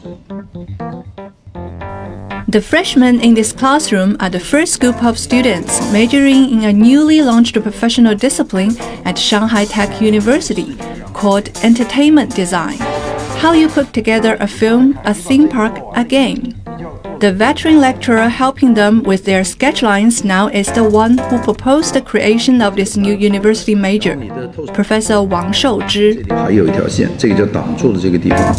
The freshmen in this classroom are the first group of students majoring in a newly launched professional discipline at Shanghai Tech University called Entertainment Design. How you put together a film, a theme park, a game. The veteran lecturer helping them with their sketchlines now is the one who proposed the creation of this new university major, Professor Wang Shouzhi. 还有一条线，这个叫挡住的这个地方。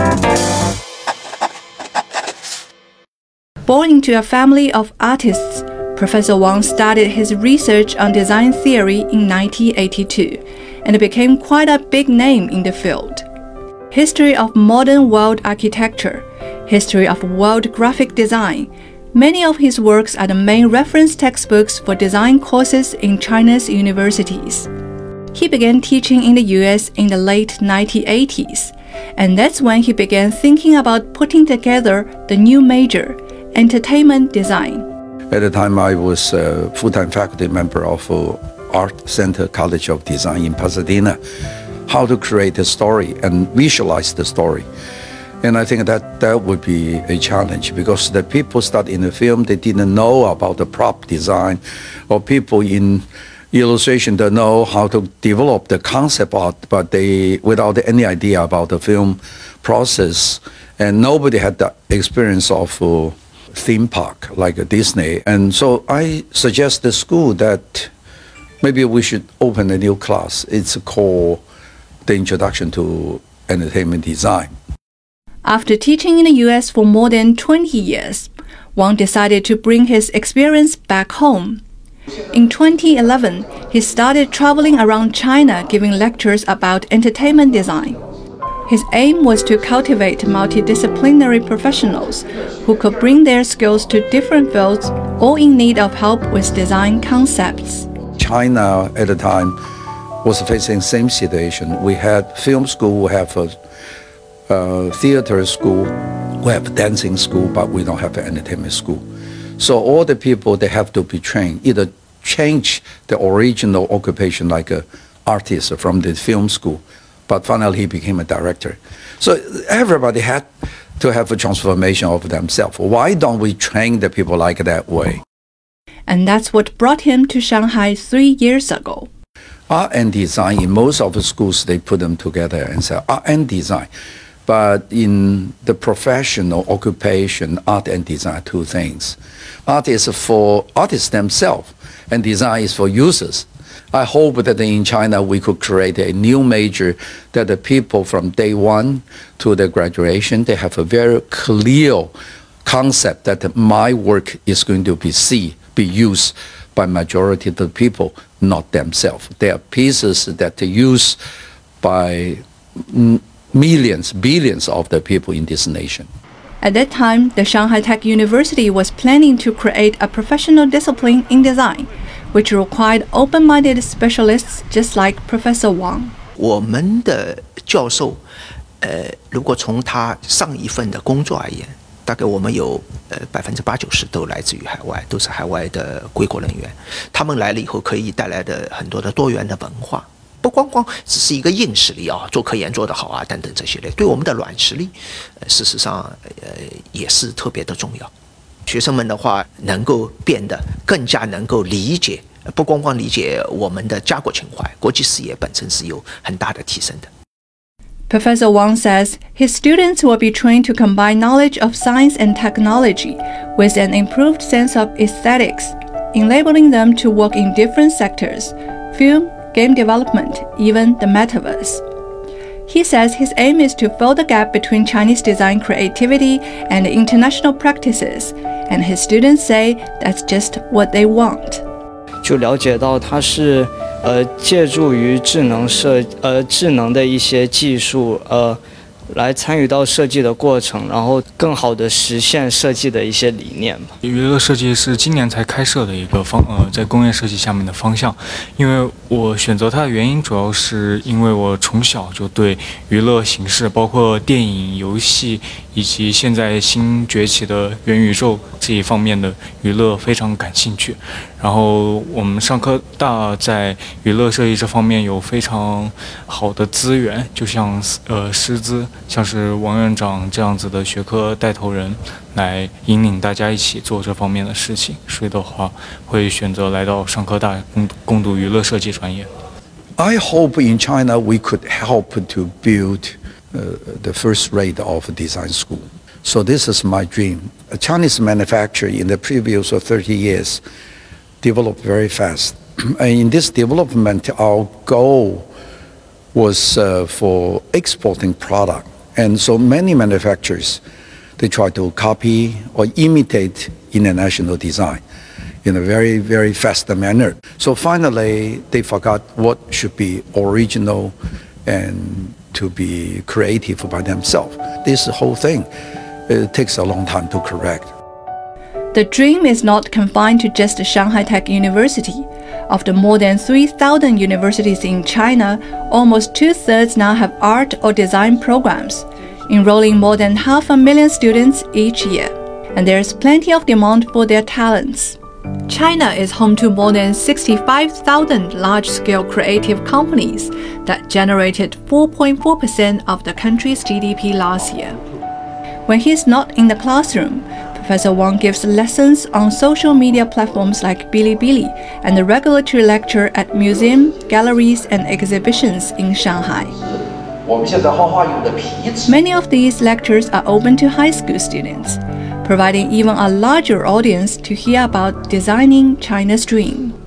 Born into a family of artists, Professor Wang started his research on design theory in 1982 and became quite a big name in the field. History of modern world architecture, history of world graphic design. Many of his works are the main reference textbooks for design courses in China's universities. He began teaching in the US in the late 1980s, and that's when he began thinking about putting together the new major, Entertainment Design. At the time, I was a full-time faculty member of Art Center College of Design in Pasadena. How to create a story and visualize the story. And I think that would be a challenge because the people studying the film, they didn't know about the prop design, or people in illustration don't know how to develop the concept art, but they, without any idea about the film process, and nobody had the experience of theme park like a Disney. And so I suggest the school that maybe we should open a new class. It's called the Introduction to Entertainment Design. After teaching in the US for more than 20 years, Wang decided to bring his experience back home. In 2011, he started traveling around China giving lectures about entertainment design. His aim was to cultivate multidisciplinary professionals who could bring their skills to different fields, all in need of help with design concepts. China at the time was facing the same situation. We had film school, we have a theater school, we have dancing school, but we don't have an entertainment school. So all the people, they have to be trained, either change the original occupation like an artist from the film school, but finally he became a director. So everybody had to have a transformation of themselves. Why don't we train the people like that way? And that's what brought him to Shanghai 3 years ago. Art and design, in most of the schools, they put them together and say art and design. But in the professional occupation, art and design are two things. Art is for artists themselves, and design is for users. I hope that in China we could create a new major that the people from day one to their graduation, they have a very clear concept that my work is going to be used by majority of the people, not themselves. They are pieces that are used by millions, billions of the people in this nation. At that time, the Shanghai Tech University was planning to create a professional discipline in design, which required open-minded specialists just like Professor Wang. 我们的教授，如果从他上一份的工作而言，大概我们有80%-90%都来自于海外，都是海外的归国人员。他们来了以后，可以带来的很多的多元的文化，不光只是一个硬实力啊，做科研做得好啊等等这些类，对我们的软实力，事实上也是特别的重要。学生们的话，能够变得更加能够理解，不光理解我们的家国情怀，国际视野本身是有很大的提升的。 Professor Wang says his students will be trained to combine knowledge of science and technology with an improved sense of aesthetics, enabling them to work in different sectors, film, game development, even the metaverse. He says his aim is to fill the gap between Chinese design creativity and international practices, and his students say that's just what they want. 就了解到它是借助于智能的一些技术来参与到设计的过程，然后更好的实现设计的一些理念吧。 娱乐设计是今年才开设的一个在工业设计下面的方向。因为我选择它的原因，主要是因为我从小就对娱乐形式，包括电影、游戏以及现在新崛起的元宇宙这一方面的娱乐非常感兴趣。然后我们上科大在娱乐设计这方面有非常好的资源，就像师资，像是王院长这样子的学科带头人来引领大家一起做这方面的事情，所以的话会选择来到上科大攻读娱乐设计专业。 I hope in China we could help to build the first rate of design school. So this is my dream. A Chinese manufacturer in the previous 30 years developed very fast. And in this development, our goal was for exporting product. And so many manufacturers, they try to copy or imitate international design in a very, very fast manner. So finally, they forgot what should be original and to be creative by themselves. This whole thing, it takes a long time to correct. The dream is not confined to just Shanghai Tech University. Of the more than 3,000 universities in China, almost 2/3 now have art or design programs, enrolling more than 500,000 students each year. And there's plenty of demand for their talents. China is home to more than 65,000 large-scale creative companies that generated 4.4% of the country's GDP last year. When he's not in the classroom, Professor Wang gives lessons on social media platforms like Bilibili and a regulatory lecture at museums, galleries, and exhibitions in Shanghai. Many of these lectures are open to high school students, providing even a larger audience to hear about designing China's dream.